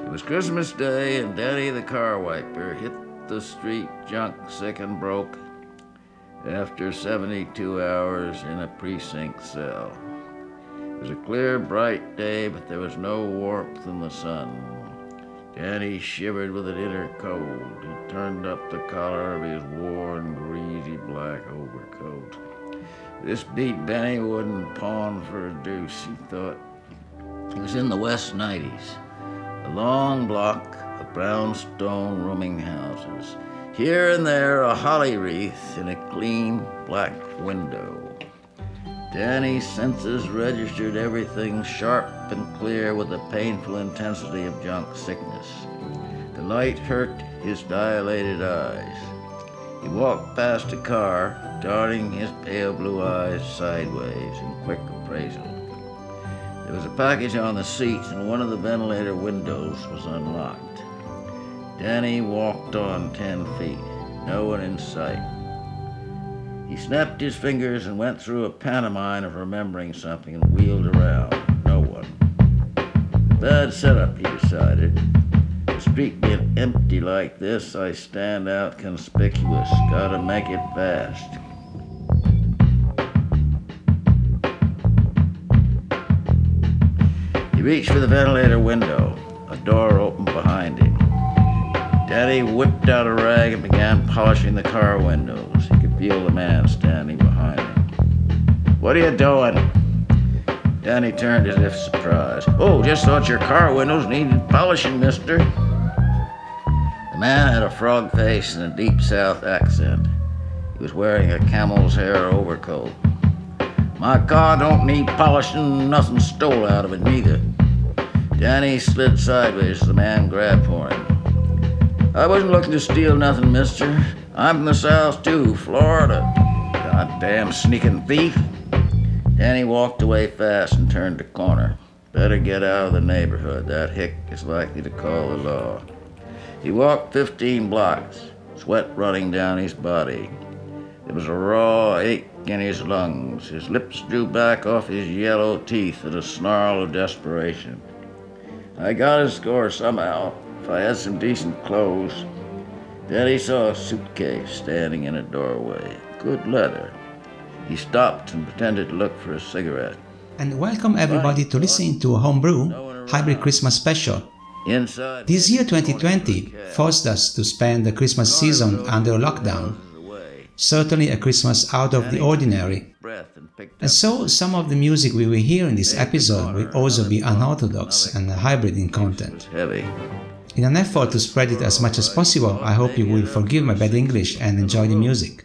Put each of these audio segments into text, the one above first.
It was Christmas Day, and Danny the car wiper hit the street junk sick and broke after 72 hours in a precinct cell. It was a clear, bright day, but there was no warmth in the sun. Danny shivered with an inner cold. He turned up the collar of his worn, greasy black overcoat. This beat Benny wouldn't pawn for a deuce, he thought. He was in the West 90s, a long block of brownstone rooming houses. Here and there, a holly wreath in a clean black window. Danny's senses registered everything sharp and clear with the painful intensity of junk sickness. The light hurt his dilated eyes. He walked past a car, darting his pale blue eyes sideways in quick appraisal. There was a package on the seat, and one of the ventilator windows was unlocked. Danny walked on 10 feet, no one in sight. He snapped his fingers and went through a pantomime of remembering something and wheeled around. No one. Bad setup, he decided. The street being empty like this, I stand out conspicuous. Gotta make it fast. He reached for the ventilator window. A door opened behind him. Danny whipped out a rag and began polishing the car windows. He could feel the man standing behind him. "What are you doing?" Danny turned as if surprised. "Oh, just thought your car windows needed polishing, mister." The man had a frog face and a deep South accent. He was wearing a camel's hair overcoat. "My car don't need polishing, nothing stole out of it neither." Danny slid sideways as the man grabbed for him. "I wasn't looking to steal nothing, mister. I'm from the South too, Florida. Goddamn sneaking thief." Danny walked away fast and turned the corner. Better get out of the neighborhood. That hick is likely to call the law. He walked 15 blocks, sweat running down his body. There was a raw ache in his lungs. His lips drew back off his yellow teeth in a snarl of desperation. "I got to score somehow. If I had some decent clothes." Then he saw a suitcase standing in a doorway. Good leather. He stopped and pretended to look for a cigarette. And welcome everybody to listening to Homebrew Hybrid Christmas Special. This year 2020 forced us to spend the Christmas season under lockdown. Certainly a Christmas out of the ordinary. And so some of the music we will hear in this episode will also be unorthodox and hybrid in content. In an effort to spread it as much as possible, I hope you will forgive my bad English and enjoy the music.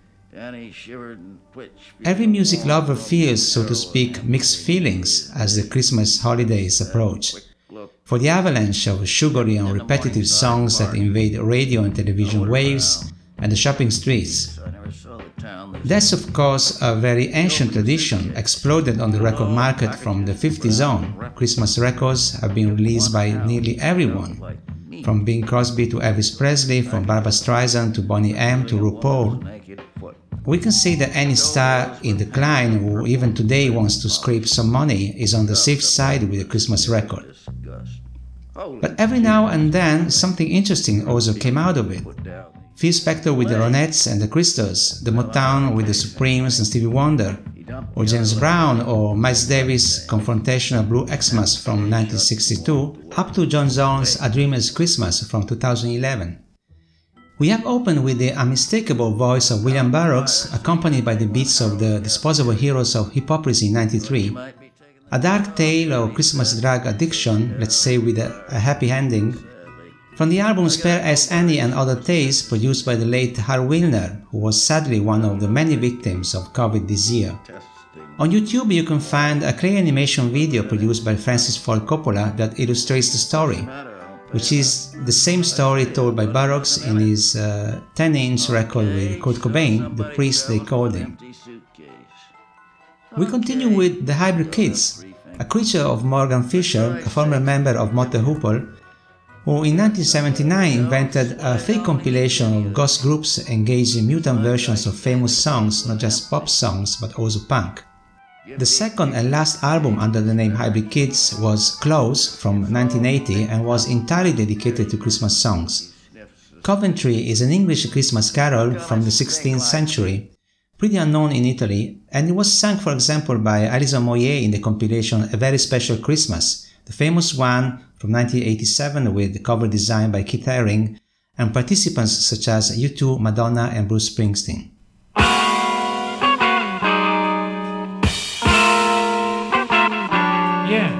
Every music lover feels, so to speak, mixed feelings as the Christmas holidays approach. For the avalanche of sugary and repetitive songs that invade radio and television waves and the shopping streets. That's of course a very ancient tradition, exploded on the record market from the 50s on. Christmas records have been released by nearly everyone, from Bing Crosby to Elvis Presley, from Barbra Streisand to Boney M to RuPaul. We can say that any star in decline who even today wants to scrape some money is on the safe side with a Christmas record. But every now and then something interesting also came out of it. Phil Spector with the Ronettes and the Crystals, the Motown with the Supremes and Stevie Wonder, or James Brown or Miles Davis' confrontational Blue Xmas from 1962, up to John Zorn's A Dreamer's Christmas from 2011. We have opened with the unmistakable voice of William Burroughs, accompanied by the beats of the Disposable Heroes of Hypocrisy in 1993, a dark tale of Christmas drug addiction, let's say with a happy ending, from the album Spare as Annie and Other Tales, produced by the late Hal Wilner, who was sadly one of the many victims of COVID this year. On YouTube you can find a clay animation video produced by Francis Ford Coppola that illustrates the story, which is the same story told by Burroughs in his 10-inch record with Kurt Cobain, The Priest They Called Him. We continue with The Hybrid Kids, a creature of Morgan Fisher, a former member of Mott the Hoople, who in 1979 invented a fake compilation of ghost groups engaged in mutant versions of famous songs, not just pop songs but also punk. The second and last album under the name Hybrid Kids was Close from 1980 and was entirely dedicated to Christmas songs. Coventry is an English Christmas carol from the 16th century, pretty unknown in Italy, and it was sung, for example, by Alison Moyet in the compilation A Very Special Christmas, the famous one from 1987 with the cover design by Keith Haring and participants such as U2, Madonna and Bruce Springsteen. Yeah.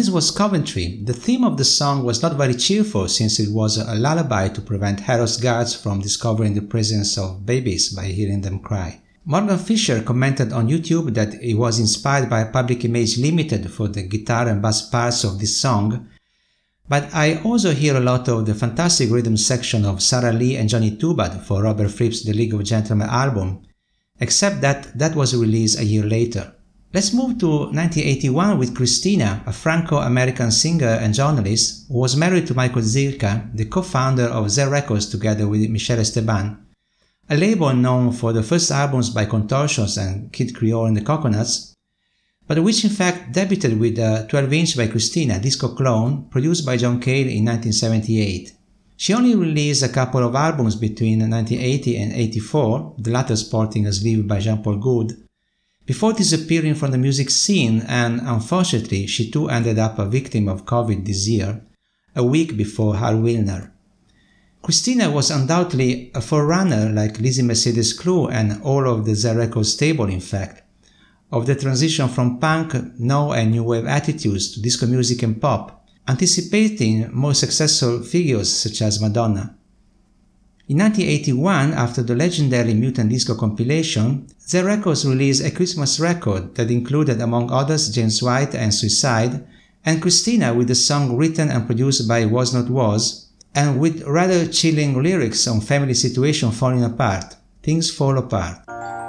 This was Coventry. The theme of the song was not very cheerful since it was a lullaby to prevent Harrow's guards from discovering the presence of babies by hearing them cry. Morgan Fisher commented on YouTube that it was inspired by Public Image Limited for the guitar and bass parts of this song, but I also hear a lot of the fantastic rhythm section of Sarah Lee and Johnny Tubad for Robert Fripp's The League of Gentlemen album, except that was released a year later. Let's move to 1981 with Christina, a Franco-American singer and journalist who was married to Michael Zilka, the co-founder of Z Records together with Michel Esteban, a label known for the first albums by Contortions and Kid Creole and the Coconuts, but which in fact debuted with a 12-inch by Christina, Disco Clone, produced by John Cale in 1978. She only released a couple of albums between 1980 and 84, the latter sporting a sleeve by Jean-Paul Gould, before disappearing from the music scene, and unfortunately she too ended up a victim of COVID this year, a week before Hal Wilner. Christina was undoubtedly a forerunner like Lizzie Mercedes Clou and all of the Z Records stable in fact, of the transition from punk, no and new wave attitudes to disco music and pop, anticipating more successful figures such as Madonna. In 1981, after the legendary Mutant Disco compilation, Z Records released a Christmas record that included among others James White and Suicide, and Christina with the song written and produced by Was Not Was, and with rather chilling lyrics on family situation falling apart, Things Fall Apart.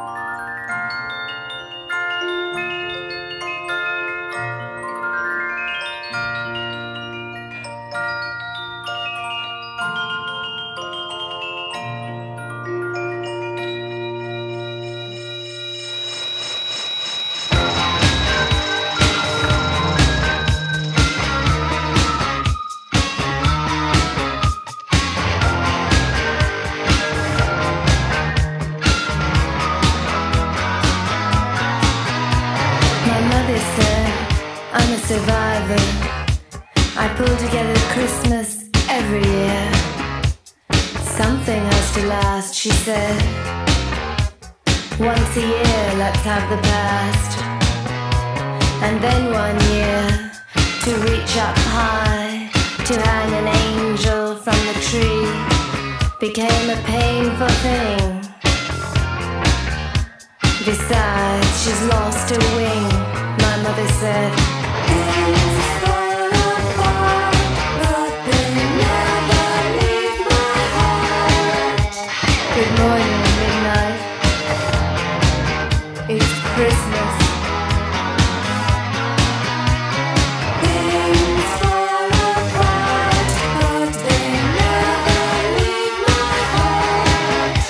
Once a year, let's have the past, and then 1 year to reach up high, to hang an angel from the tree, became a painful thing. Besides, she's lost her wing, my mother said. Things fall apart, but they never leave my heart. Good morning, midnight. It's Christmas. Things fall apart, but they never leave my heart.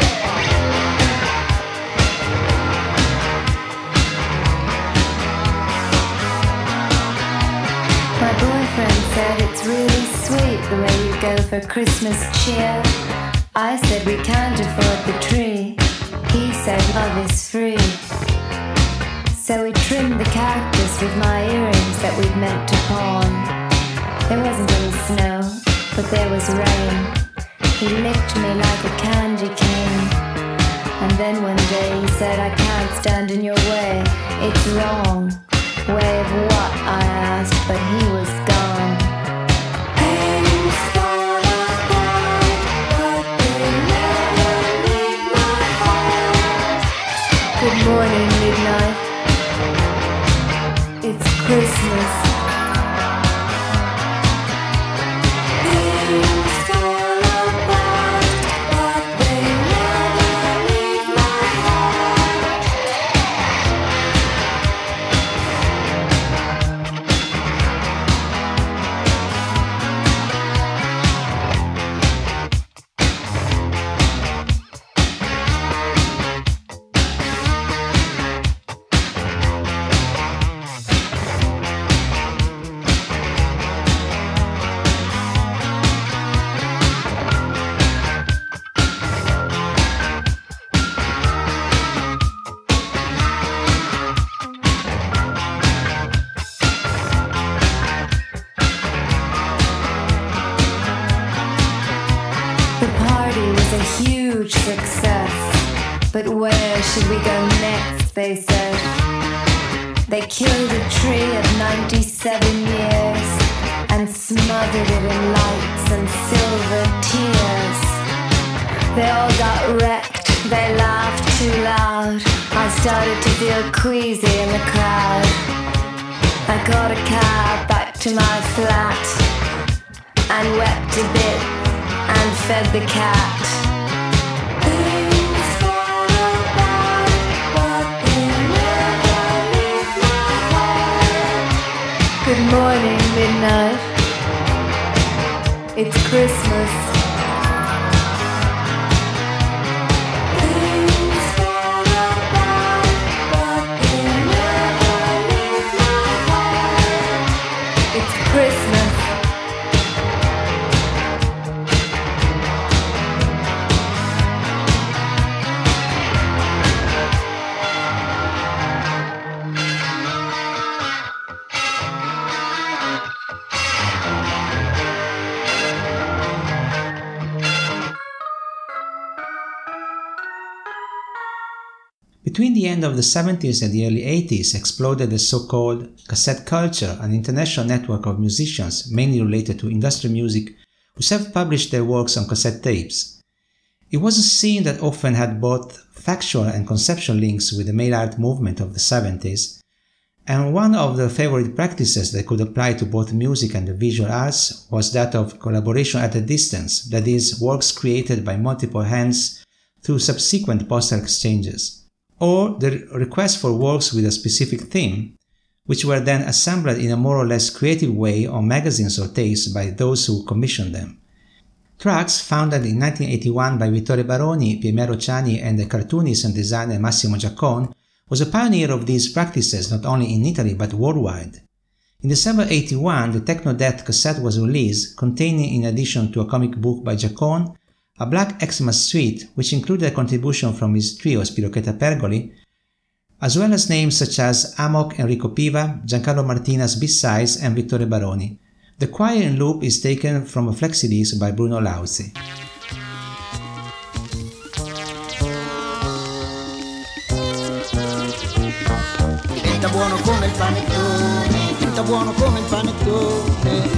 My boyfriend said it's really sweet the way you go for Christmas cheer. I said we can't afford the tree. He said love is free. So we trimmed the cactus with my earrings that we'd meant to pawn. There wasn't any snow, but there was rain. He licked me like a candy cane. And then one day he said, I can't stand in your way. It's wrong. Way of what? I asked, but he was gone. Things fall apart, but they never leave my heart. Good morning, midnight. It's Christmas. Things fall apart, but they never leave my heart. The party was a huge success, but where should we go next, they said. They killed a tree of 97 years and smothered it in lights and silver tears. They all got wrecked, they laughed too loud. I started to feel queasy in the crowd. I got a cab back to my flat and wept a bit and fed the cat. Things fall apart, but they never leave my heart. Good morning, midnight. It's Christmas. Things fall apart, but they never leave my heart. It's Christmas. Between the end of the 70s and the early 80s exploded the so-called cassette culture, an international network of musicians mainly related to industrial music who self-published their works on cassette tapes. It was a scene that often had both factual and conceptual links with the mail art movement of the 70s, and one of the favorite practices that could apply to both music and the visual arts was that of collaboration at a distance, that is, works created by multiple hands through subsequent postal exchanges, or the request for works with a specific theme, which were then assembled in a more or less creative way on magazines or tapes by those who commissioned them. Tracks, founded in 1981 by Vittore Baroni, Piero Ciani and the cartoonist and designer Massimo Giaccone, was a pioneer of these practices not only in Italy but worldwide. In December 1981, the Techno Death cassette was released, containing, in addition to a comic book by Giaccone, a Black Xmas suite, which included a contribution from his trio Spirocheta Pergoli, as well as names such as Amok, Enrico Piva, Giancarlo Martina's B-Sides and Vittore Baroni. The choir in loop is taken from a flexi-disc by Bruno Lauzi. Diventa buono come il panettone, diventa buono come il panettone.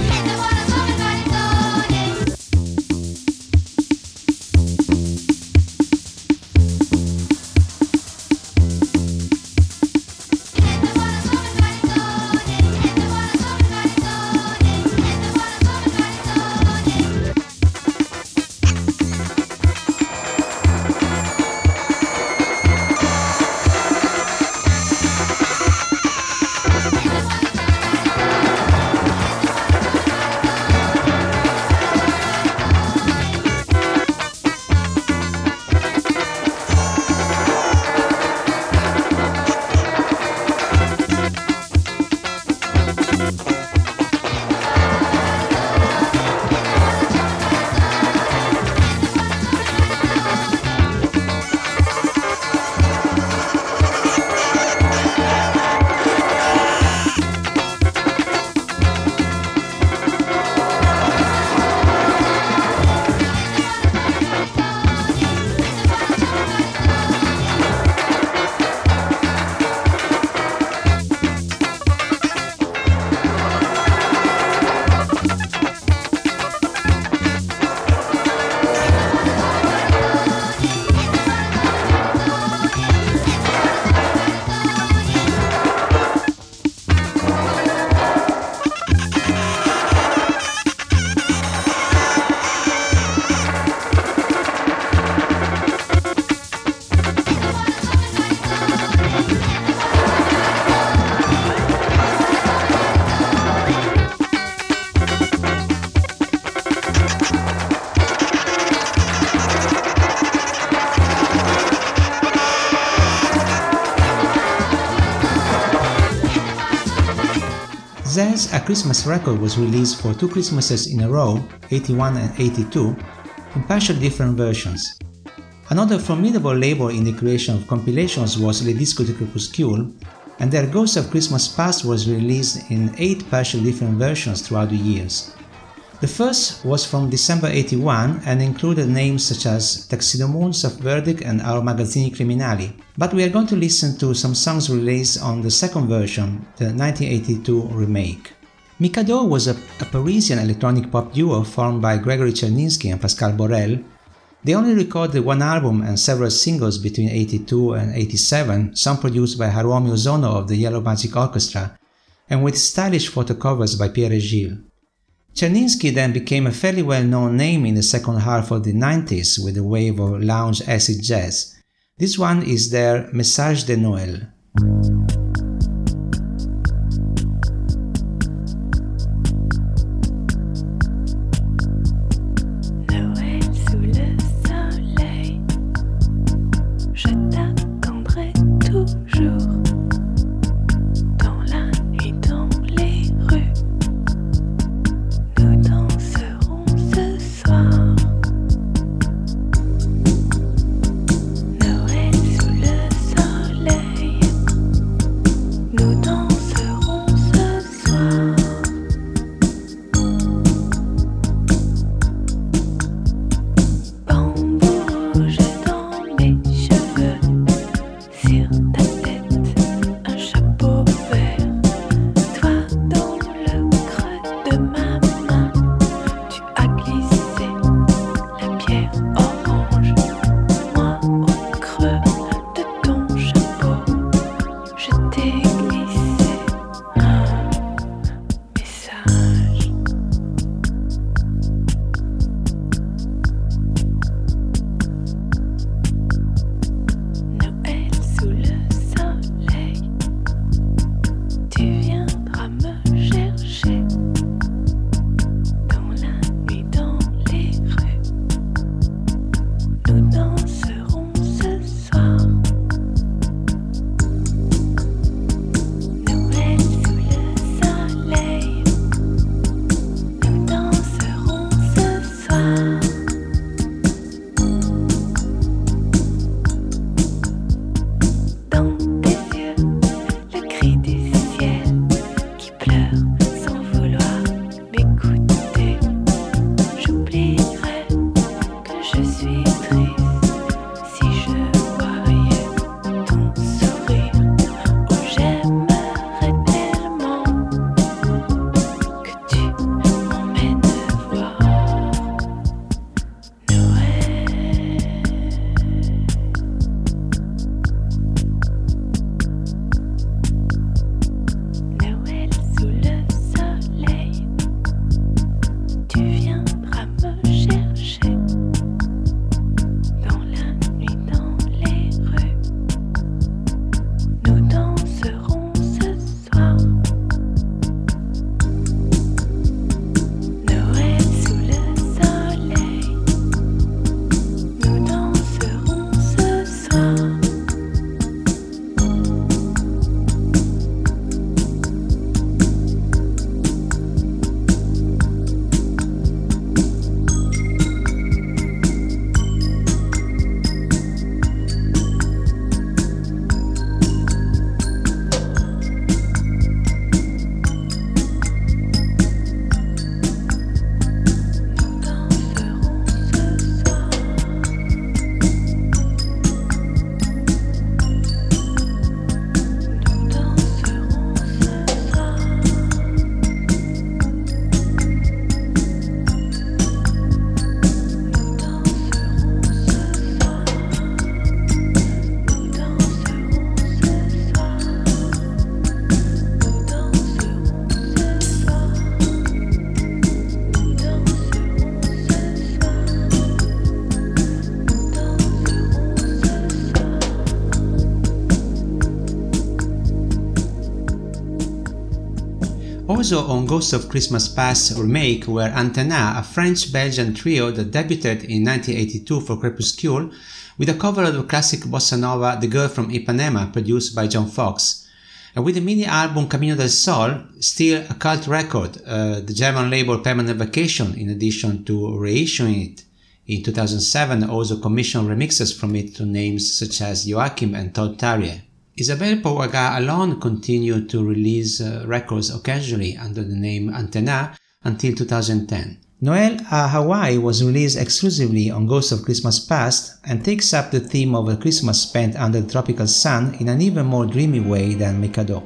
Zez, A Christmas Record, was released for 2 Christmases in a row, 81 and 82, in partially different versions. Another formidable labor in the creation of compilations was Le Disco di Crepuscule, and their Ghosts of Christmas Past was released in 8 partially different versions throughout the years. The first was from December 81 and included names such as Taxidermoons of Verdict and Our Magazzini Criminali. But we are going to listen to some songs released on the second version, the 1982 remake. Mikado was a Parisian electronic pop duo formed by Gregory Cherninsky and Pascal Borel. They only recorded one album and several singles between 82 and 87, some produced by Haruomi Ozono of the Yellow Magic Orchestra, and with stylish photo covers by Pierre Gilles. Cherninsky then became a fairly well-known name in the second half of the 90s with a wave of lounge acid jazz. This one is their Message de Noël. Also on Ghosts of Christmas Past remake were Antenna, a French-Belgian trio that debuted in 1982 for Crepuscule with a cover of the classic bossa nova The Girl from Ipanema produced by John Fox. And with the mini-album Camino del Sol, still a cult record, the German label Permanent Vacation, in addition to reissuing it in 2007, also commissioned remixes from it to names such as Joachim and Todd Tarrier. Isabelle Pouaga alone continued to release records occasionally under the name Antenna until 2010. Noel à Hawaii was released exclusively on Ghost of Christmas Past and takes up the theme of a Christmas spent under the tropical sun in an even more dreamy way than Mikado.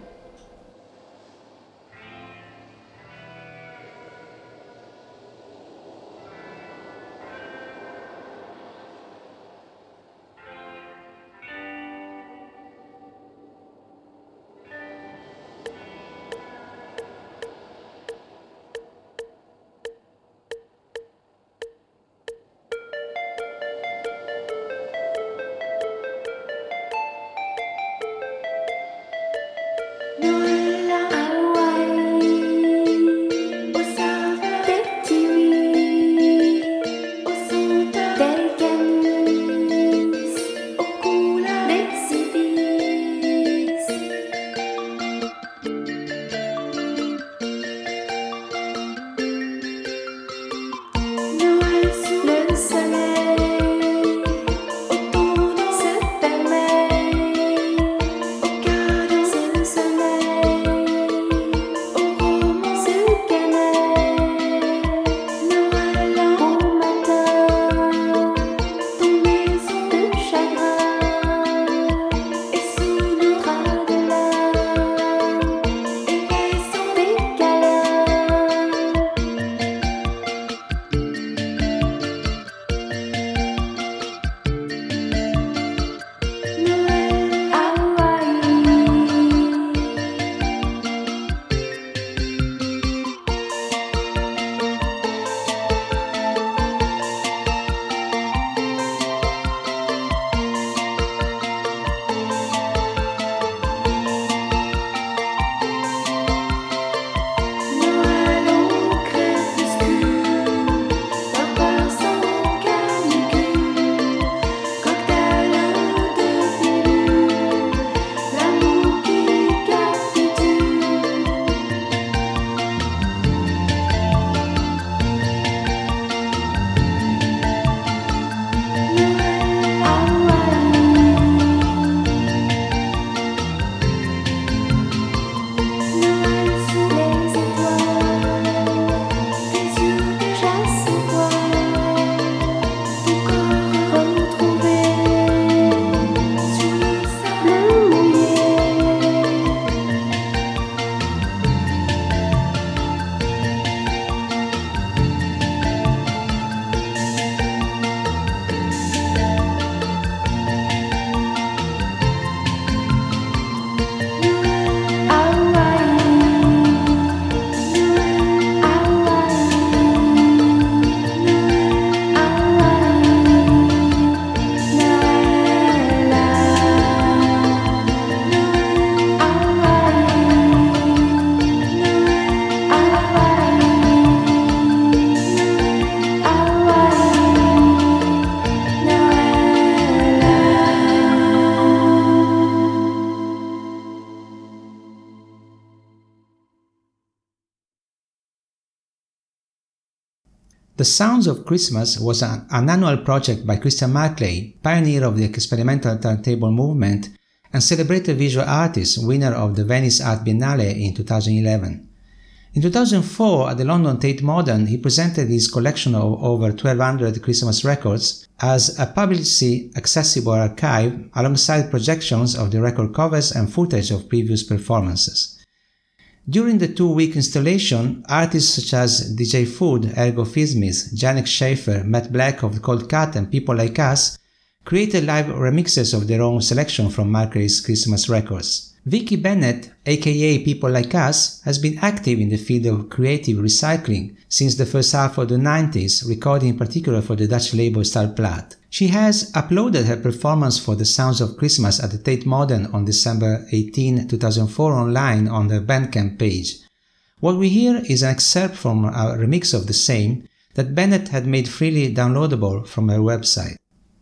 The Sounds of Christmas was an annual project by Christian Marclay, pioneer of the experimental turntable movement and celebrated visual artist, winner of the Venice Art Biennale in 2011. In 2004, at the London Tate Modern, he presented his collection of over 1,200 Christmas records as a publicly accessible archive alongside projections of the record covers and footage of previous performances. During the 2-week installation, artists such as DJ Food, Ergo Fismith, Janek Schaefer, Matt Black of Cold Cut and People Like Us created live remixes of their own selection from Marclay's Christmas records. Vicky Bennett, aka People Like Us, has been active in the field of creative recycling since the first half of the 90s, recording in particular for the Dutch label Starplaat. She has uploaded her performance for The Sounds of Christmas at the Tate Modern on December 18, 2004 online on the Bandcamp page. What we hear is an excerpt from a remix of the same that Bennett had made freely downloadable from her website.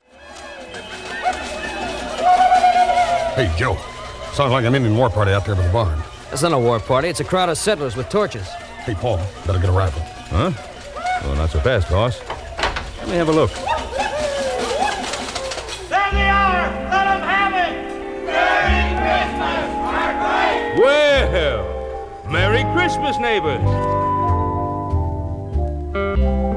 Hey, Joe. Sounds like an Indian war party out there by the barn. It's not a war party. It's a crowd of settlers with torches. Hey, Paul, better get a rifle. Huh? Well, not so fast, boss. Let me have a look. There they are! Let them have it! Merry Christmas, Marclay! Well, Merry Christmas, neighbors!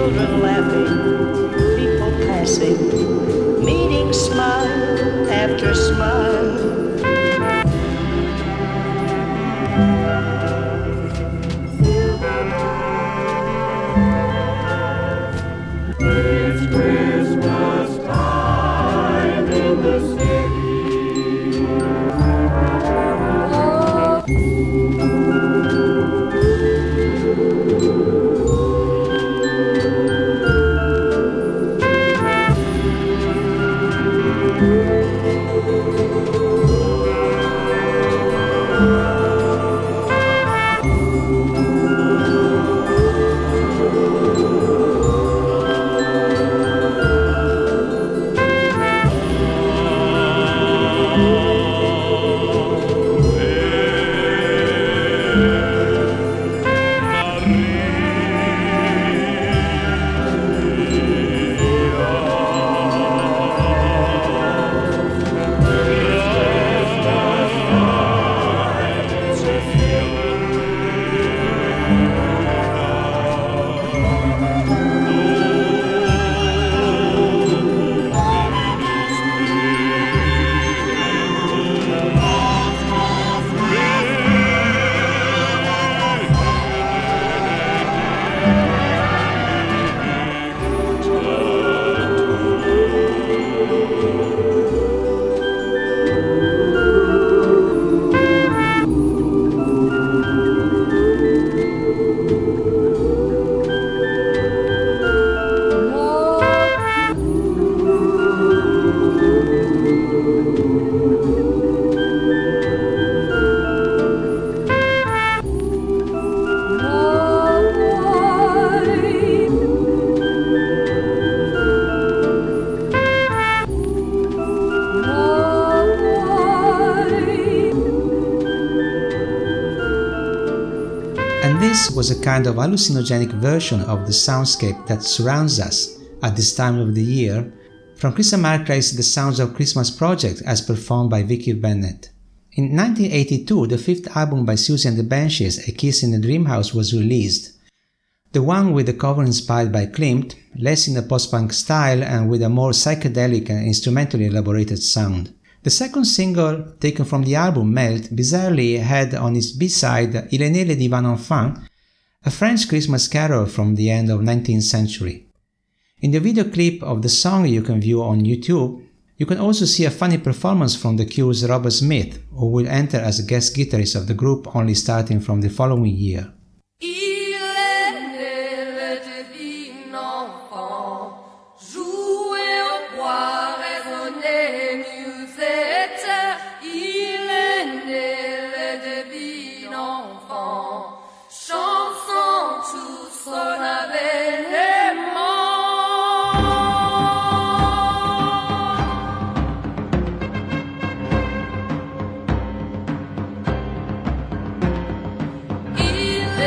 children laughing, people passing, meeting smile after smile. It's Christmas time in the city. This was a kind of hallucinogenic version of the soundscape that surrounds us at this time of the year, from Chris Marker's The Sounds of Christmas project as performed by Vicky Bennett. In 1982, the fifth album by Siouxsie and the Banshees, A Kiss in the Dream House, was released. The one with the cover inspired by Klimt, less in a post-punk style and with a more psychedelic and instrumentally elaborated sound. The second single, taken from the album Melt, bizarrely had on its B-side Il est né le divin enfant, a French Christmas carol from the end of 19th century. In the video clip of the song you can view on YouTube, you can also see a funny performance from The Cure's Robert Smith, who will enter as a guest guitarist of the group only starting from the following year. Il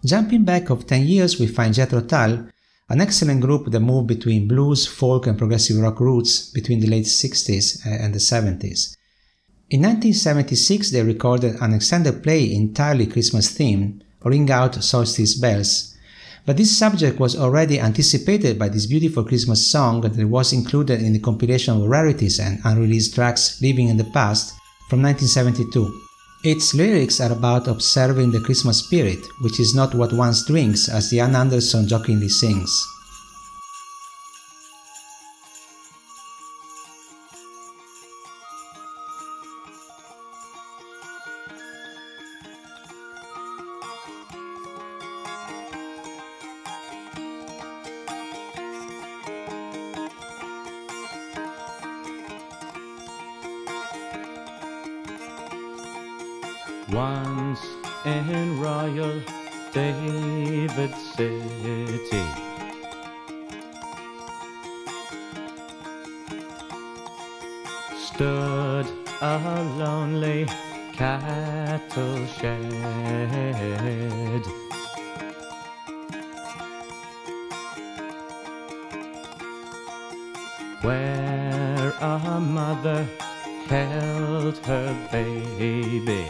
Jumping back of 10 years, we find Jethro Tull, an excellent group that moved between blues, folk and progressive rock roots between the late 60s and the 70s. In 1976, they recorded an extended play entirely Christmas-themed, Ring Out Solstice Bells, but this subject was already anticipated by this beautiful Christmas song that was included in the compilation of rarities and unreleased tracks Living in the Past from 1972. Its lyrics are about observing the Christmas spirit, which is not what one drinks, as Ian Anderson jokingly sings. Once in Royal David City, stood a lonely cattle shed. Where a mother held her baby.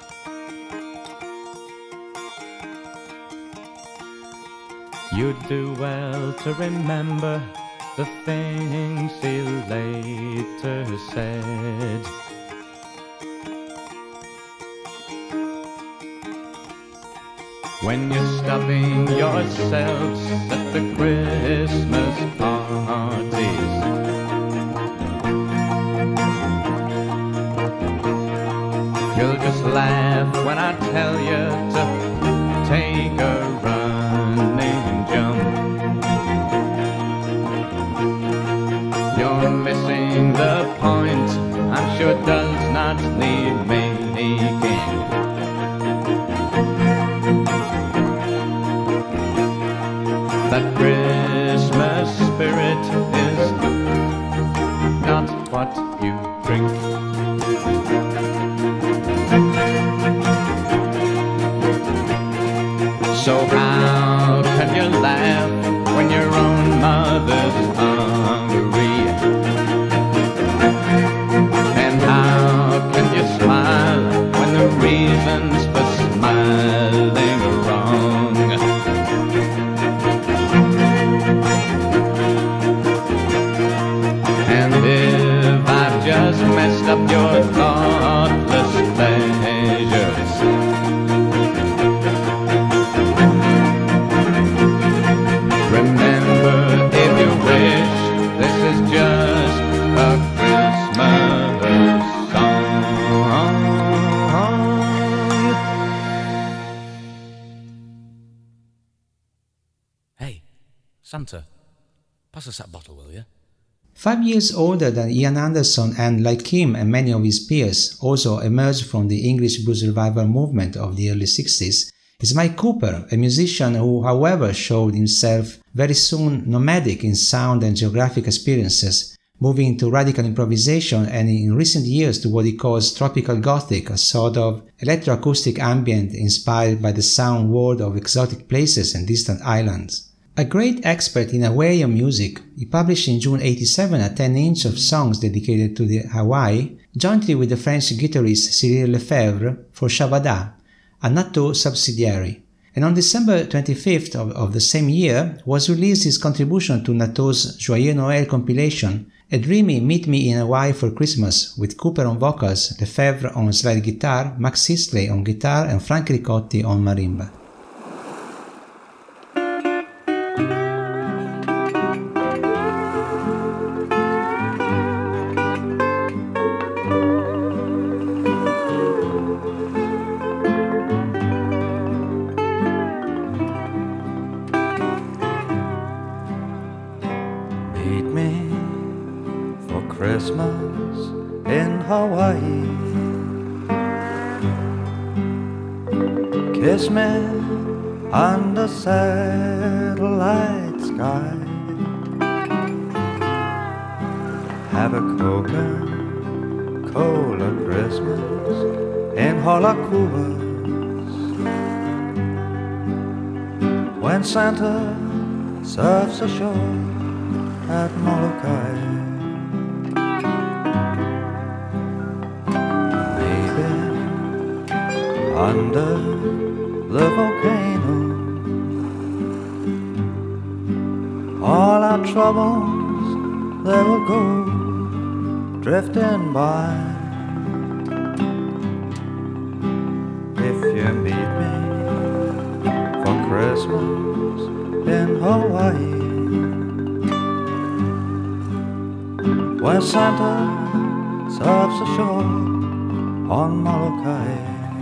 You'd do well to remember the things he later said. When you're stuffing yourselves at the Christmas parties, you'll just laugh when I tell you to take a running jump. You're missing the point, I'm sure does not need making. That Christmas spirit is not what you drink. So how can you laugh when your own mother's hungry? And how can you smile when the reasons for smiling are wrong? And if I've just messed up your thoughtless pleasures, remember, if you wish, this is just a Christmas song. Hey, Santa, pass us that bottle, will you? 5 years older than Ian Anderson and, like him and many of his peers, also emerged from the English blues revival movement of the early 60s, is Mike Cooper, a musician who, however, showed himself very soon nomadic in sound and geographic experiences, moving into radical improvisation and in recent years to what he calls tropical gothic, a sort of electroacoustic ambient inspired by the sound world of exotic places and distant islands. A great expert in Hawaiian music, he published in June 1987 a 10-inch of songs dedicated to the Hawaii, jointly with the French guitarist Cyril Lefebvre for Shabada, a Nato subsidiary. And on December 25th of the same year was released his contribution to Nato's Joyeux Noël compilation, a dreamy Meet Me in Hawaii for Christmas, with Cooper on vocals, Lefebvre on slide guitar, Max Sisley on guitar and Frank Ricotti on marimba. Christmas in Hawaii. Kiss me under satellite sky. Have a Coca-Cola Christmas in Holakuas. when Santa surfs ashore at Molokai. Maybe under the volcano, all our troubles they will go drifting by. If you meet me for Christmas in Hawaii, where Santa surfs ashore on Molokai.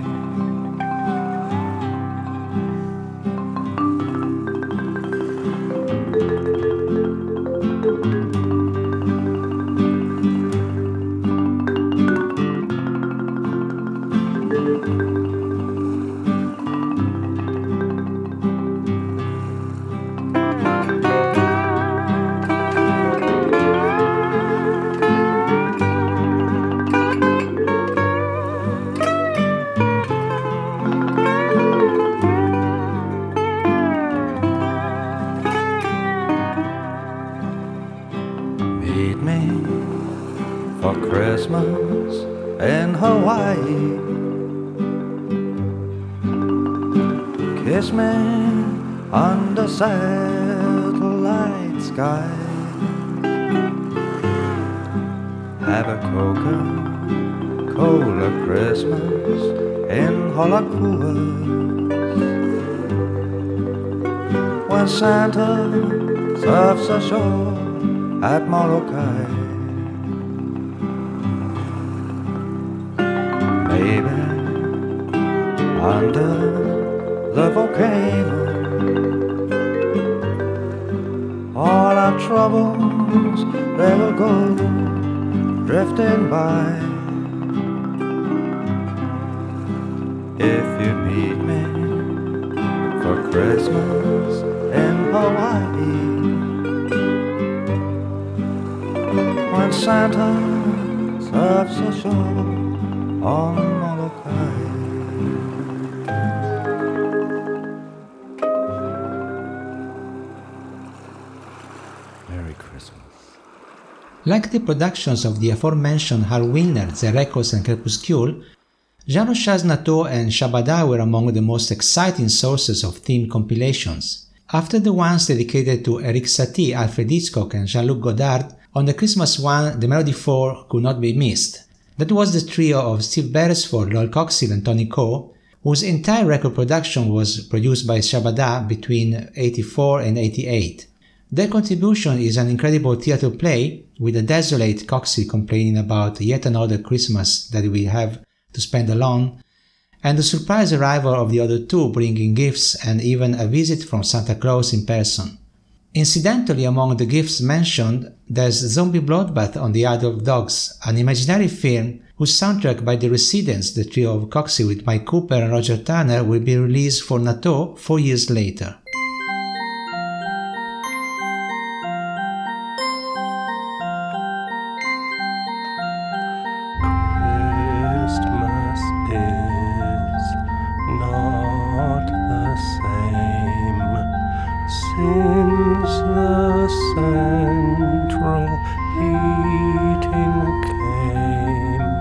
Meet me for Christmas in Hawaii. Kiss me under satellite sky. Have a Coca-Cola Christmas in Holakua, when Santa surfs ashore at Molokai. Maybe under the volcano, all our troubles they will go drifting by. If you meet me for Christmas in Hawaii, when Santa surfs ashore on Molokai. Merry Christmas. Like the productions of the aforementioned Hal Wilner, The Records and Crepuscule, Jean-Rochas Nateau and Shabada were among the most exciting sources of theme compilations. After the ones dedicated to Eric Satie, Alfred Hitchcock and Jean-Luc Godard, on the Christmas one, the Melody 4 could not be missed. That was the trio of Steve Beresford, Lowell Coxhill and Tony Coe, whose entire record production was produced by Shabada between 84 and 88. Their contribution is an incredible theatre play, with a desolate Coxhill complaining about yet another Christmas that we have to spend alone, and the surprise arrival of the other two bringing gifts and even a visit from Santa Claus in person. Incidentally, among the gifts mentioned, there's Zombie Bloodbath on the Isle of Dogs, an imaginary film whose soundtrack by The Residents, the trio of Coxhill with Mike Cooper and Roger Tanner, will be released for Nateau 4 years later. Christmas is not the same since the central heating came.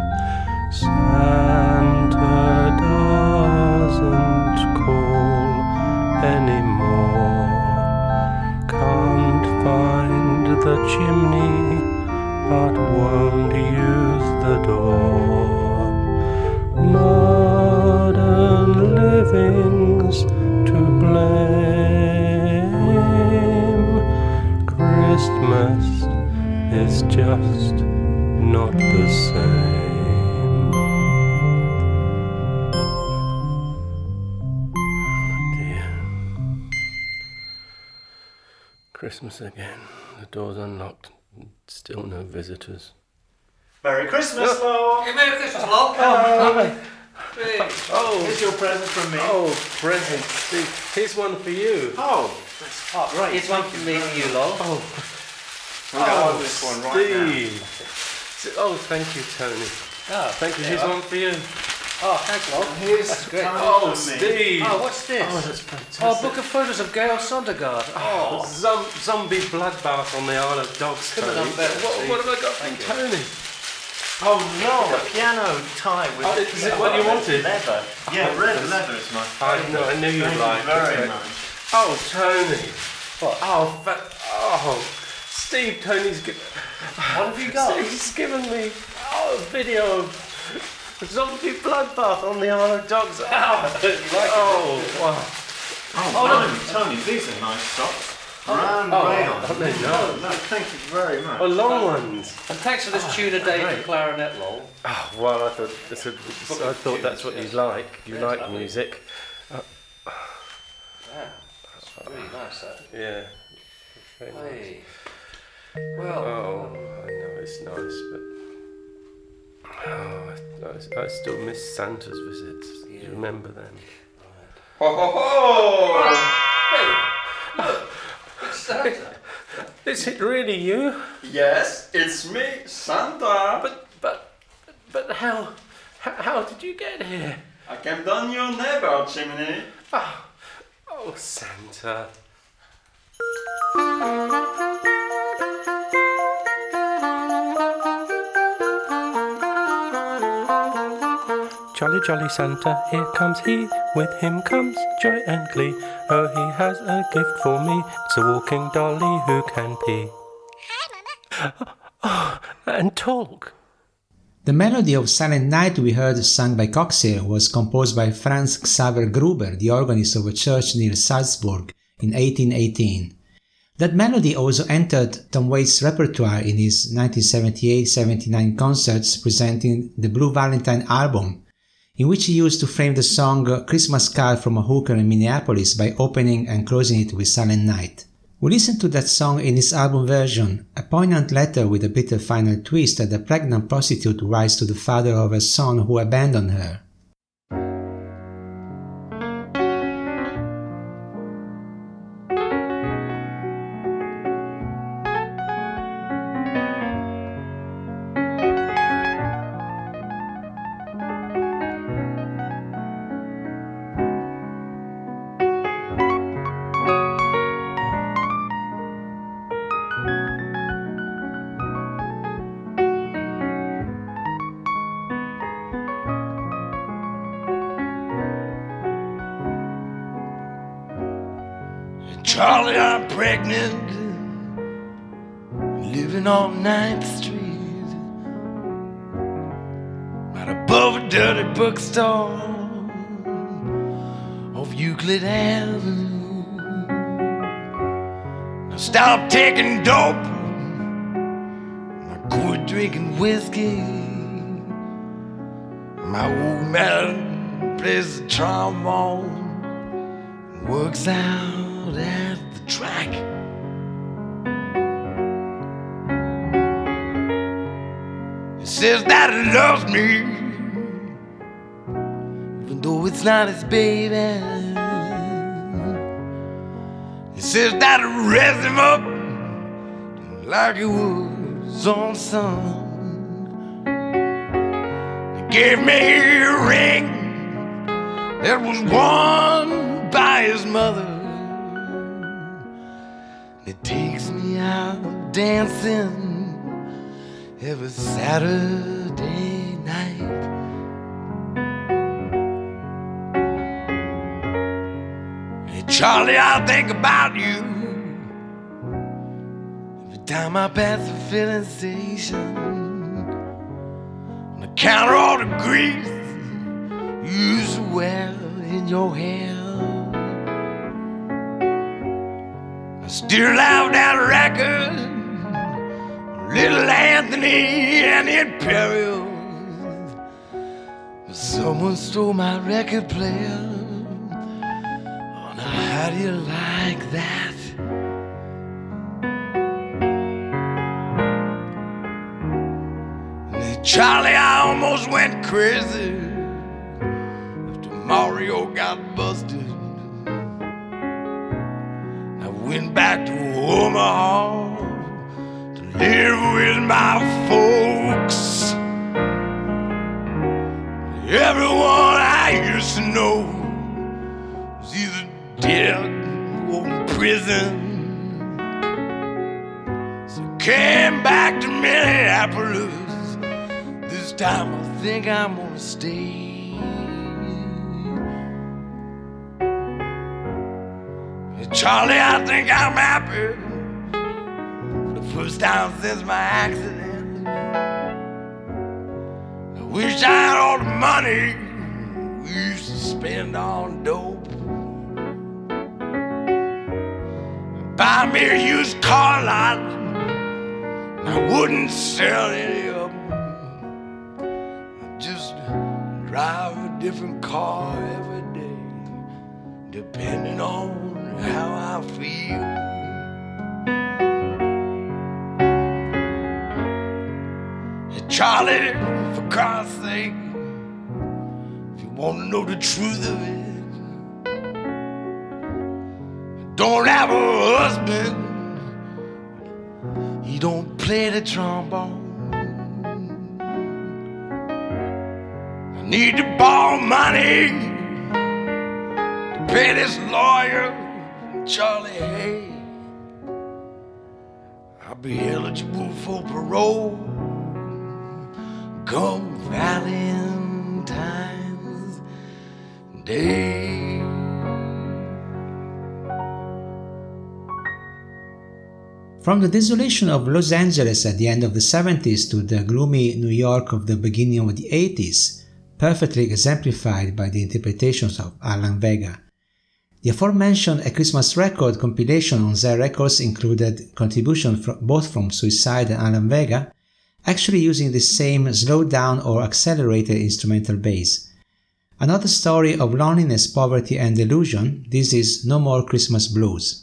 Santa doesn't call anymore. Can't find the chimney, but won't use the door. Modern living's to blame. Christmas is just not the same. Oh dear. Christmas again. The door's unlocked. Still no visitors. Merry Christmas, Lowell! Hey, Merry Christmas, Lowell! Here's your present from me. Oh, present. See, here's one for you. Oh, that's hot. Right. Here's one from me for you, Lowell. I'm going to open this one right now. Oh, thank you, Tony. Thank you. Here's one for you. Oh, thanks, Log. Here's great. Oh, Steve. Oh, what's this? Oh, that's fantastic. Oh, a book of photos of Gail Sondergaard. Oh, Zombie bloodbath on the Isle of Dogs. Couldn't have Tony. done better, Steve. What have I got from Thank you. Tony? oh no, a piano tie with. Is it what you wanted? Leather. Yeah, red leather is my I favourite. know. I knew you'd Thank like you very it. much. Oh, Tony. What? Oh, Steve. Tony's given. What have you got? He's given me a video of zombie bloodbath on the Isle of Dogs. You like it? Wow. Oh, Tony, these are nice socks. Brown rayon. aren't they? No. No, thank you very much. Oh, long ones. And thanks for this tune a day for clarinet, Lol. Oh, well, I thought that's what you like. You like music. Yeah, that's really nice, that. Yeah. Very nice. Hey. Well. Oh, I know it's nice, but I still miss Santa's visits. Do you remember them? Ho ho ho! Hey, look, it's Santa. Is it really you? Yes, it's me, Santa. But how did you get here? I came down your neighbor chimney. Oh, Santa. Jolly, jolly Santa, here comes he. With him comes joy and glee. Oh, he has a gift for me. It's a walking dolly who can pee. Oh, and talk. The melody of Silent Night we heard sung by Coxier was composed by Franz Xaver Gruber, the organist of a church near Salzburg, in 1818. That melody also entered Tom Waits' repertoire in his 1978-79 concerts presenting the Blue Valentine album, in which he used to frame the song Christmas Card from a Hooker in Minneapolis by opening and closing it with Silent Night. We listened to that song in his album version, a poignant letter with a bitter final twist that a pregnant prostitute writes to the father of her son who abandoned her. Charlie, I'm pregnant, living on 9th Street, right above a dirty bookstore off Euclid Avenue. Now stop taking dope, I quit drinking whiskey. My old man plays the trombone, works out at the track. He says that he loves me, even though it's not his baby. He says that he raised him up like he was on son. He gave me a ring that was worn by his mother. It takes me out dancing every Saturday night. Hey Charlie, I think about you every time I pass the filling station. On account of all the grease you used to wear in your hair. Still love that record, Little Anthony and the Imperials. But someone stole my record player. Oh, now how do you like that? And Charlie, I almost went crazy after Mario got busted. Went back to Omaha to live with my folks. Everyone know was either dead or in prison. So came back to Minneapolis. This time I think I'm gonna stay. Charlie, I think I'm happy for the first time since my accident. I wish I had all the money we used to spend on dope. Buy me a used car lot, and I wouldn't sell any of them. I'd just drive a different car every day, depending on how I feel. Hey, Charlie, for God's sake, if you want to know the truth of it, I don't have a husband. He don't play the trombone. I need to borrow money to pay this lawyer. Charlie, hey, I'll be eligible for parole come Valentine's Day. From the desolation of Los Angeles at the end of the 70s to the gloomy New York of the beginning of the 80s, perfectly exemplified by the interpretations of Alan Vega. The aforementioned A Christmas Record compilation on Zare Records included contributions both from Suicide and Alan Vega, actually using the same slowed down or accelerated instrumental bass. Another story of loneliness, poverty and delusion, this is No More Christmas Blues.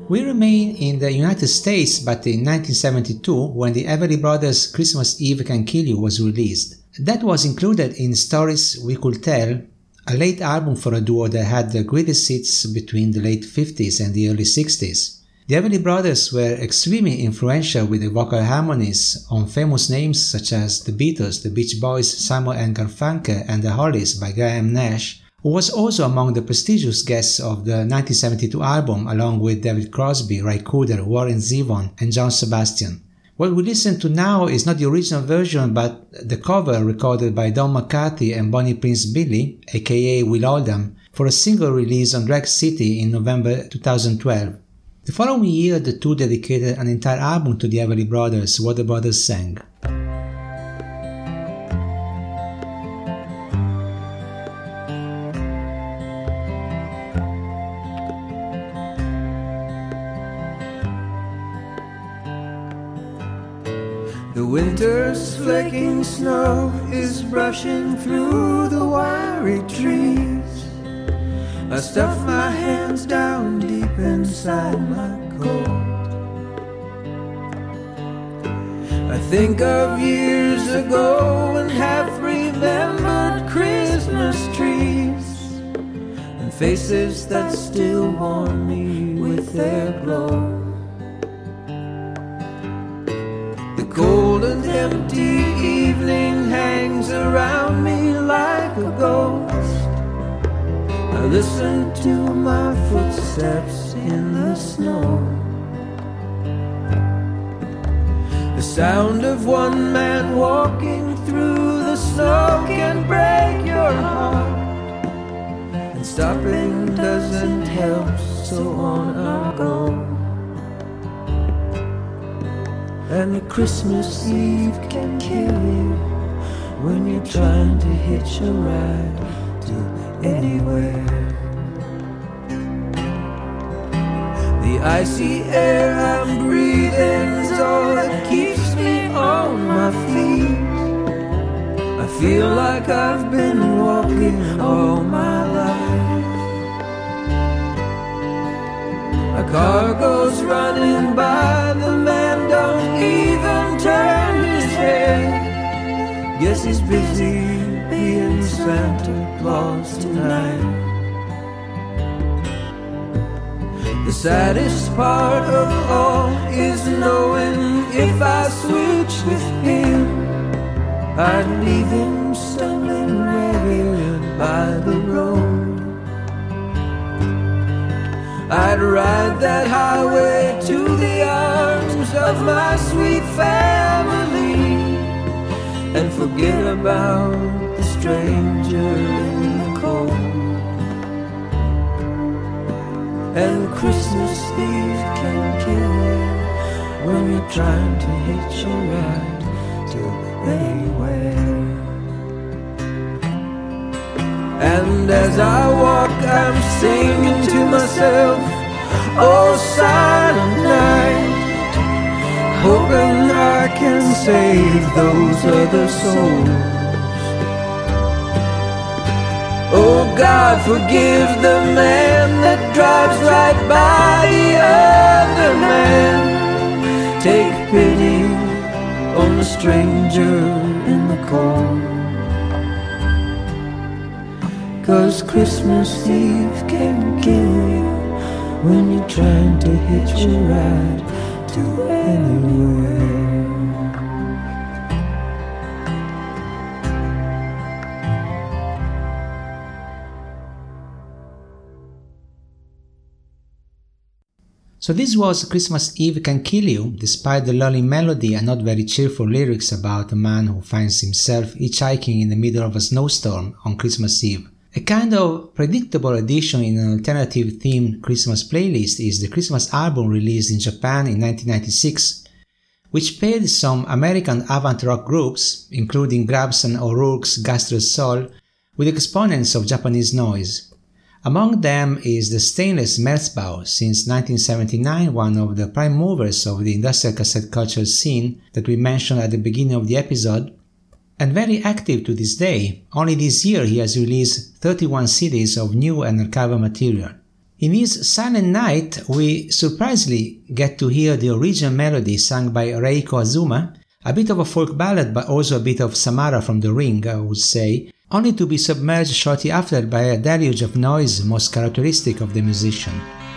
We remain in the United States, but in 1972, when the Everly Brothers' Christmas Eve Can Kill You was released. That was included in Stories We Could Tell, a late album for a duo that had the greatest hits between the late 50s and the early 60s. The Everly Brothers were extremely influential with the vocal harmonies on famous names such as The Beatles, The Beach Boys, Simon and Garfunkel, and The Hollies by Graham Nash, who was also among the prestigious guests of the 1972 album along with David Crosby, Ray Cooder, Warren Zevon, and John Sebastian. What we listen to now is not the original version but the cover recorded by Don McCarthy and Bonnie Prince Billy, aka Will Oldham, for a single release on Drag City in November 2012. The following year, the two dedicated an entire album to the Everly Brothers, What the Brothers Sang. The winter's flaking snow is brushing through the wiry trees. I stuff my hands down deep inside my coat. I think of years ago and half-remembered Christmas trees and faces that still warm me with their glow. The cold and empty evening hangs around me like a ghost. I listen to my footsteps in the snow. The sound of one man walking through the snow can break your heart, and stopping doesn't help, so on I go. And the Christmas Eve can kill you when you're trying to hitch a ride to anywhere. The icy air I'm breathing's all that keeps me on my feet. I feel like I've been walking all my life. A car goes running by, the man don't even turn his head. Guess he's busy being Santa Claus tonight. The saddest part of all is knowing if I switch with him, I'd leave him stumbling ragged by the road. I'd ride that highway to the arms of my sweet family and forget about the stranger in the cold. And Christmas Eve can kill you when you're trying to hitch a ride to anywhere. And as I walk, I'm singing to myself, oh silent night, hoping I can save those other souls. Oh God, forgive the man that drives right by the other man. Take pity on the stranger in the cold. 'Cause Christmas Eve can kill you when you're trying to hitch a ride to anywhere. So this was Christmas Eve Can Kill You, despite the lulling melody and not very cheerful lyrics about a man who finds himself hitchhiking in the middle of a snowstorm on Christmas Eve. A kind of predictable addition in an alternative-themed Christmas playlist is the Christmas album released in Japan in 1996, which paired some American avant-rock groups, including Grabs and O'Rourke's Gastrous Soul, with exponents of Japanese noise. Among them is the Stainless Merzbow, since 1979 one of the prime movers of the industrial cassette culture scene that we mentioned at the beginning of the episode, and very active to this day. Only this year he has released 31 CDs of new and archival material. In his Silent Night, we surprisingly get to hear the original melody sung by Reiko Azuma, a bit of a folk ballad but also a bit of Samara from The Ring, I would say, only to be submerged shortly after by a deluge of noise most characteristic of the musician.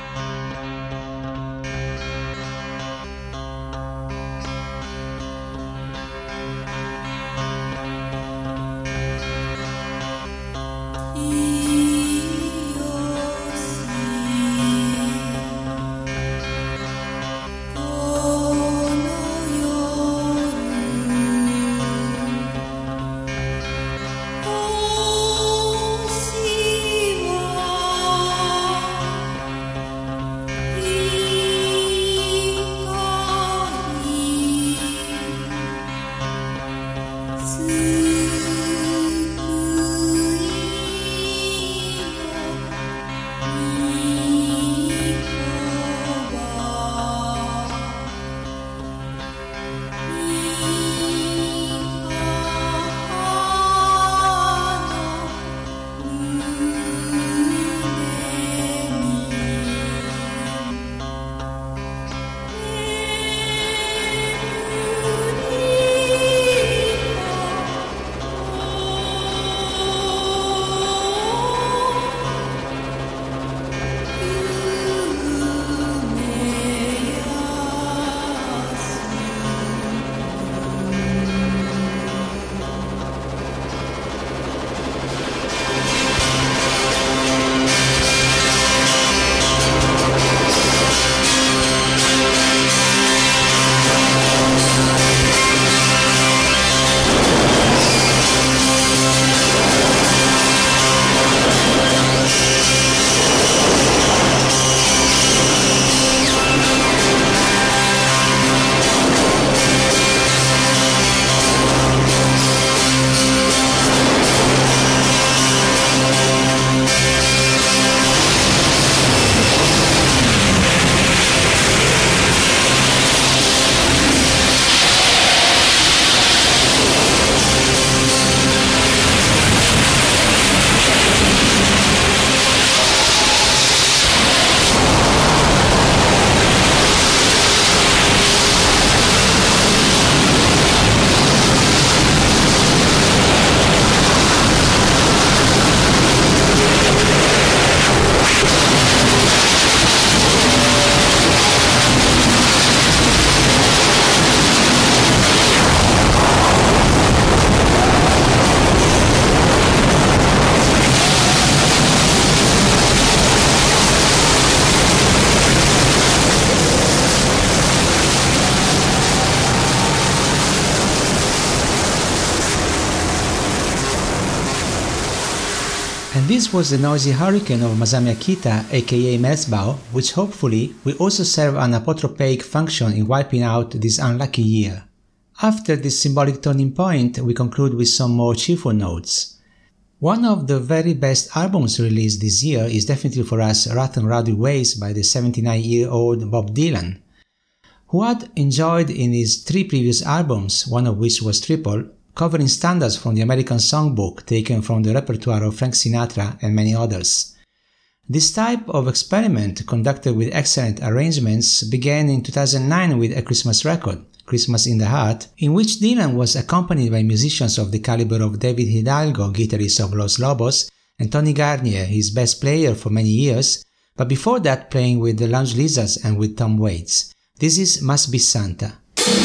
And this was the noisy hurricane of Masami Akita, aka Merzbow, which hopefully will also serve an apotropaic function in wiping out this unlucky year. After this symbolic turning point, we conclude with some more cheerful notes. One of the very best albums released this year is definitely for us Rough and Rowdy Ways by the 79-year-old Bob Dylan, who had enjoyed in his 3 previous albums, one of which was triple, covering standards from the American Songbook taken from the repertoire of Frank Sinatra and many others. This type of experiment, conducted with excellent arrangements, began in 2009 with A Christmas Record, Christmas in the Heart, in which Dylan was accompanied by musicians of the caliber of David Hidalgo, guitarist of Los Lobos, and Tony Garnier, his best player for many years, but before that playing with the Lounge Lizards and with Tom Waits. This is Must Be Santa.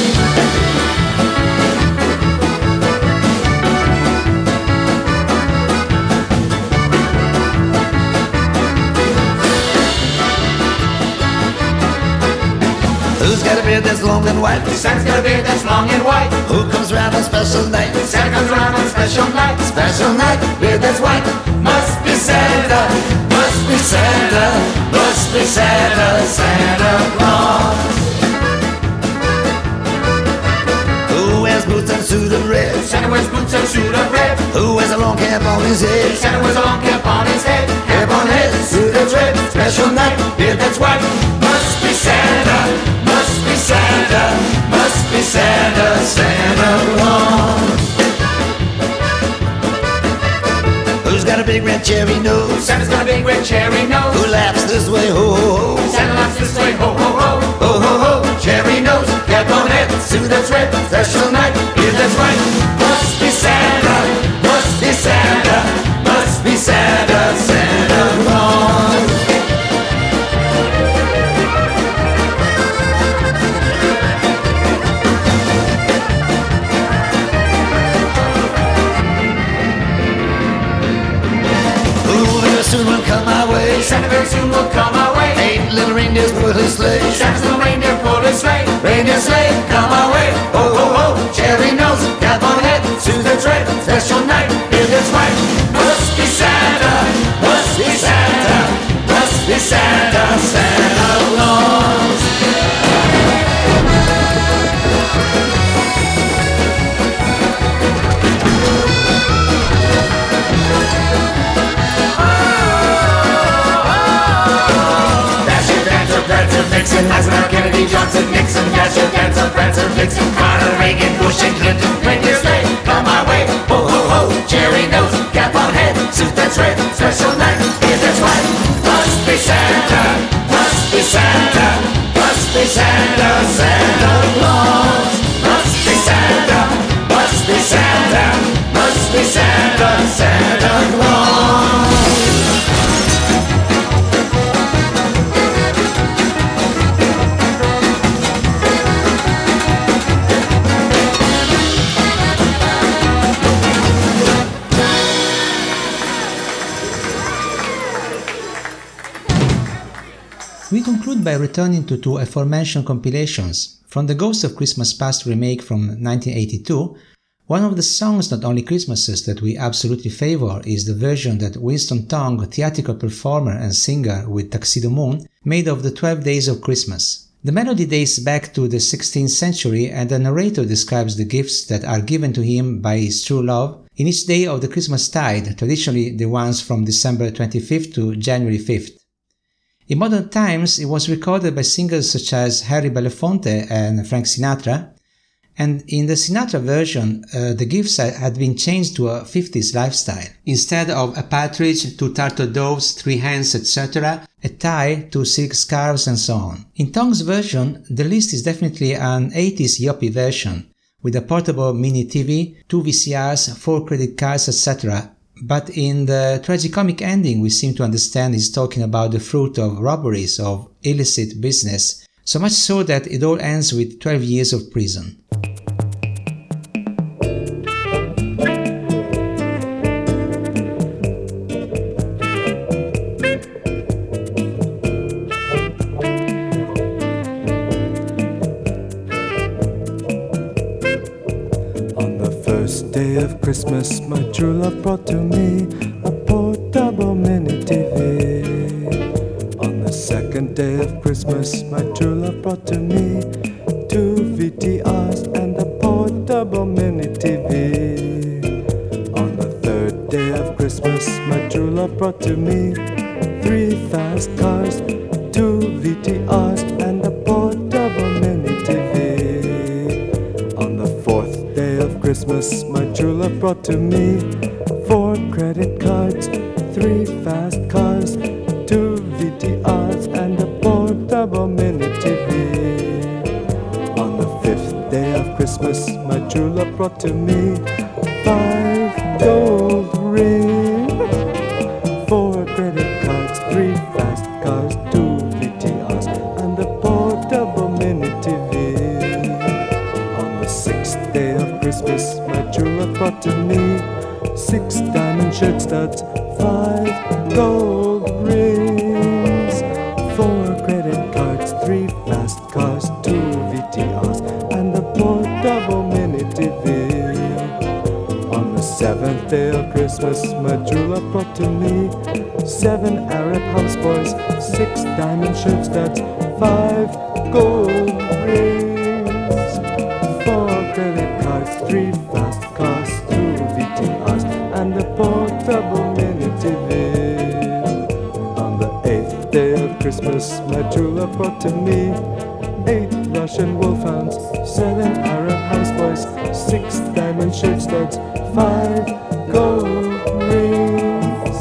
Who's got a beard that's long and white? Santa's got a beard that's long and white. Who comes round on special night? Santa comes around on special night. Special night, beard that's white. Must be Santa, must be Santa, must be Santa, Santa Claus. Who wears boots and suit of red? Santa wears boots and suit of red. Who wears a long cap on his head? Santa wears a long cap on his head. Cap on head, suit that's red. Special night, beard that's white. Must be Santa, must be Santa, must be Santa, Santa Claus. Who's got got a big red cherry nose. Santa's got a big red cherry nose. Who laughs this way, ho, ho, ho. Santa laughs this way, ho, ho, ho. Ho, ho, ho. Cherry nose, cap on head, suit that's red, special night, yeah, that's right. Must be Santa, must be Santa, must be Santa, Santa Claus. Soon will come my way. Santa very soon will come our way. 8 little reindeers pull his sleigh. Santa's little reindeer pull his sleigh. Reindeer sleigh, come our way. Ho, ho, ho. Cherry nose, cap on head, suit that's red, special night, yeah, that's right. Must be Santa, must be Santa, must be Santa, Santa Claus. Nixon, Eisenhower, Kennedy, Johnson, Nixon, Dasher, Dancer, Prancer, Vixen, Carter, Reagan, Bush, and Clinton. Reindeer sleigh, come my way. Ho, ho, ho. Cherry nose, cap on head, suit that's red, special night, yeah, that's right. Must be Santa, must be Santa, must be Santa, Santa Claus. Must be Santa, must be Santa, must be Santa, Santa Claus. We conclude by returning to two aforementioned compilations. From the Ghost of Christmas Past remake from 1982, one of the songs Not Only Christmases that we absolutely favor is the version that Winston Tong, theatrical performer and singer with Tuxedo Moon, made of the 12 Days of Christmas. The melody dates back to the 16th century, and the narrator describes the gifts that are given to him by his true love in each day of the Christmastide, traditionally the ones from December 25th to January 5th. In modern times, it was recorded by singers such as Harry Belafonte and Frank Sinatra, and in the Sinatra version, the gifts had been changed to a 50s lifestyle. Instead of a partridge, 2 turtle doves, 3 hens, etc., a tie, 2 silk scarves, and so on. In Tong's version, the list is definitely an 80s yuppie version, with a portable mini TV, 2 VCRs, 4 credit cards, etc., but in the tragicomic ending we seem to understand he's talking about the fruit of robberies, of illicit business, so much so that it all ends with 12 years of prison. Day of Christmas, my true love brought to me a portable mini TV. On the second day of Christmas, my true love brought to me 2 VTRs and a portable mini TV. On the third day of Christmas, my true love brought to me 3 fast cars, 2 VTRs and a portable mini TV. On the fourth day of Christmas, my true love brought to me 4 credit cards, 3 fast cars, 2 VTRs and a portable mini TV. On the fifth day of Christmas, my true love brought to me 5 gold rings, 4 credit cards, 3 fast cars, 2 VTRs and a portable mini TV. On the sixth day of Christmas, my true love brought to me 6 diamond shirt studs, 5 gold rings, 4 credit cards, 3 fast cars, 2 VTRs and a portable mini TV. On the seventh day of Christmas, my true love brought to me 7 Arab houseboys, 6 diamond shirt studs, 5 gold rings, 4 credit cards, 3 fast cars, 2 VTRs and a portable mini TV. On the 8th day of Christmas, my true love brought to me 8 Russian wolfhounds, 7 Arab houseboys, 6 diamond shirt studs, 5 gold rings,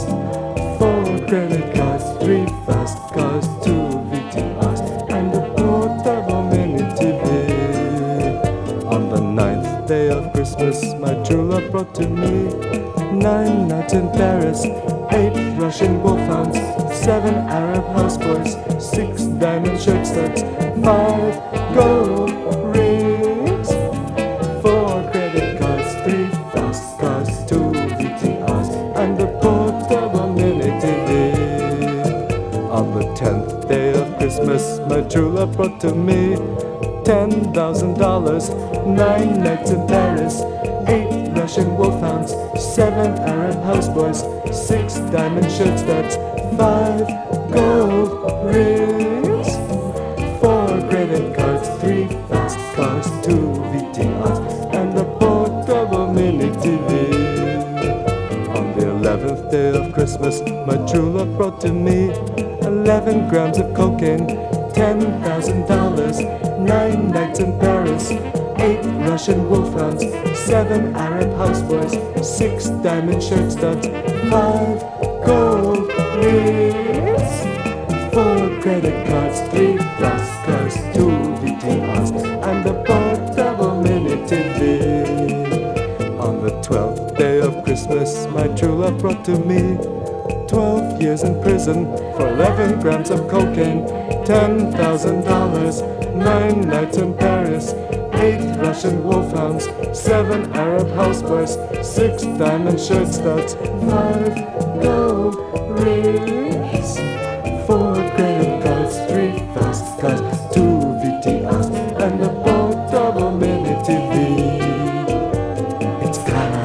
credit cards, 3 fast cars, 2 VTRs, and a portable mini TV. On the 9th day of Christmas, my true love brought to me 9 nights in Paris, 8 Russian wolfhounds, 7 Arab houseboys, 6 diamond shirt studs, 5 gold rings, 4 credit cards, 3 fast cars, 2 VTRs, and a portable mini TV. On the 10th day of Christmas, my true love brought to me $10,000, 9 nights in Paris, 8 Russian wolfhounds, 7 Arab houseboys, 6 diamond shirt studs, 5 gold rings, 4 credit cards, 3 fast cars, 2 VTRs, and a portable mini TV. On the 11th day of Christmas, my true love brought to me 11 grams of cocaine, $10,000, 9 nights in Paris, 8 Russian wolfhounds, 7 Arab houseboys, 6 diamond shirt studs, 5 gold rings, 4 credit cards, 3 fast cars, 2 VTRs, and a portable mini TV. On the 12th day of Christmas, my true love brought to me 12 years in prison for 11 grams of cocaine, $10,000, 9 nights in Paris, 8 Russian wolfhounds, 7 Arab houseboys, 6 diamond shirt studs, 5 gold rings, 4 credit cards, 3 fast cars, 2 VTRs, and a portable mini TV. It's Clara.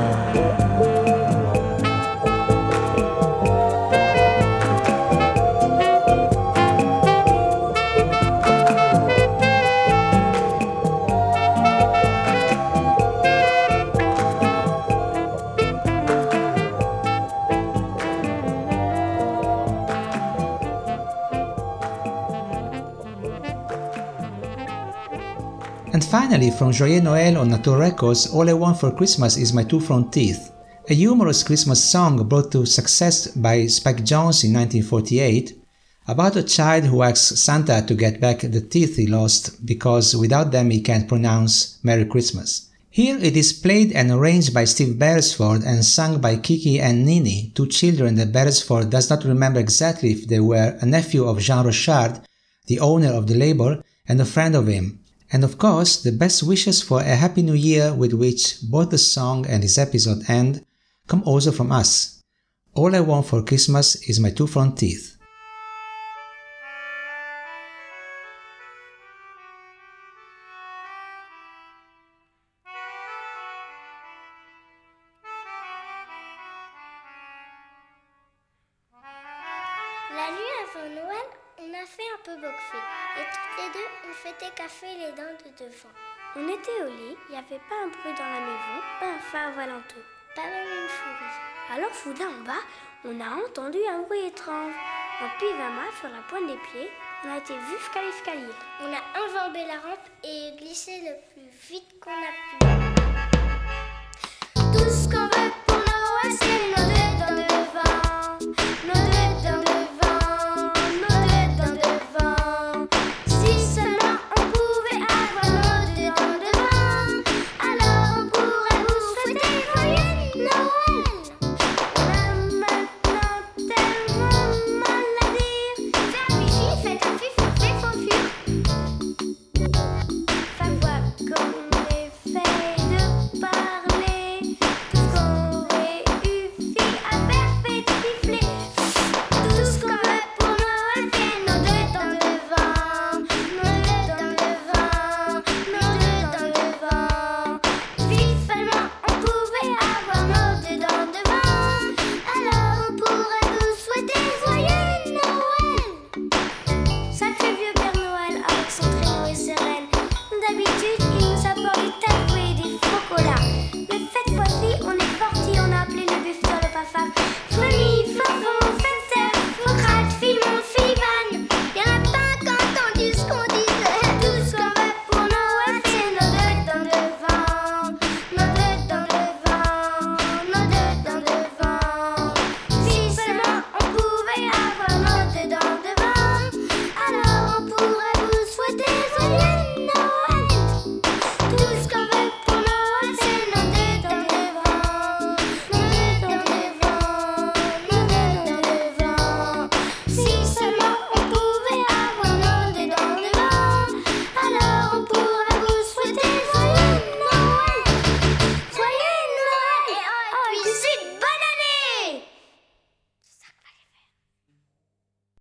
And finally, from Joyeux Noël on Natur Records, All I Want for Christmas Is My Two Front Teeth, a humorous Christmas song brought to success by Spike Jonze in 1948, about a child who asks Santa to get back the teeth he lost because without them he can't pronounce Merry Christmas. Here it is played and arranged by Steve Beresford and sung by Kiki and Nini, 2 children that Beresford does not remember exactly if they were a nephew of Jean Rochard, the owner of the label, and a friend of him. And of course, the best wishes for a Happy New Year with which both the song and this episode end come also from us. All I Want for Christmas Is My Two Front Teeth. La nuit avant Noël, on a fait un peu boxer. Et toutes les deux, on fêtait café les dents de devant. On était au lit, il n'y avait pas un bruit dans la maison, pas un phare aux alentours, pas même une souris. Alors soudain en bas, on a entendu un bruit étrange. En pyjama, sur la pointe des pieds, on a été vu jusqu'à l'escalier. On a enjambé la rampe et glissé le plus vite qu'on a pu. Tout ce qu'on veut pour Noël, c'est Noël.